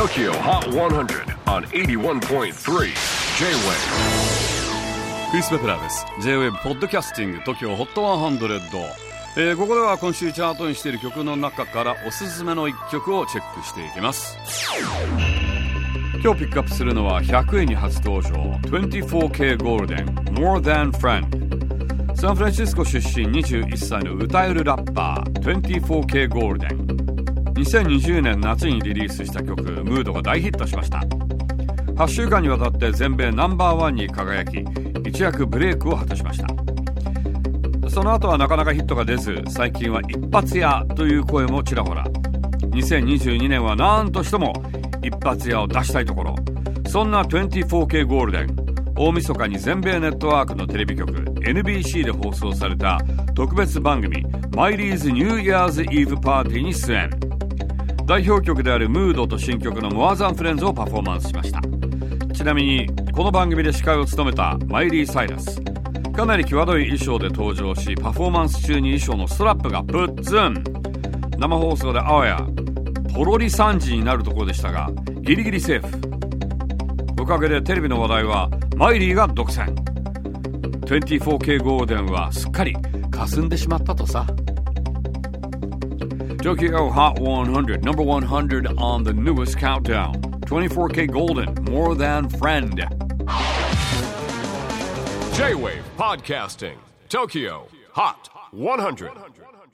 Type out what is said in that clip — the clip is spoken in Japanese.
TOKYO HOT 100 on 81.3 J-WAVE クリス・ベプラーです。 J-WAVE ポッドキャスティング TOKYO HOT 100、ここでは今週チャートにしている曲の中からおすすめの1曲をチェックしていきます。今日ピックアップするのは100位に初登場 24K ゴールデン More Than Friend。 サンフランシスコ出身21歳の歌えるラッパー 24K ゴールデン。2020年夏にリリースした曲ムードが大ヒットしました。8週間にわたって全米ナンバーワンに輝き、一躍ブレイクを果たしました。その後はなかなかヒットが出ず、最近は一発屋という声もちらほら。2022年は何としても一発屋を出したいところ。そんな 24K ゴールデン、大晦日に全米ネットワークのテレビ局 NBC で放送された特別番組マイリーズニューイヤーズイーブパーティーに出演。代表曲であるムードと新曲の More Than Friends をパフォーマンスしました。ちなみにこの番組で司会を務めたマイリー・サイラス、かなり際どい衣装で登場し、パフォーマンス中に衣装のストラップがプッツン。生放送であわやポロリ惨事になるところでしたが、ギリギリセーフ。おかげでテレビの話題はマイリーが独占。 24K ゴールデンはすっかり霞んでしまったとさ。Tokyo Hot 100, number 100 on the newest countdown. 24K Golden, More Than Friend. J-WAVE PODCASTING TOKYO HOT 100.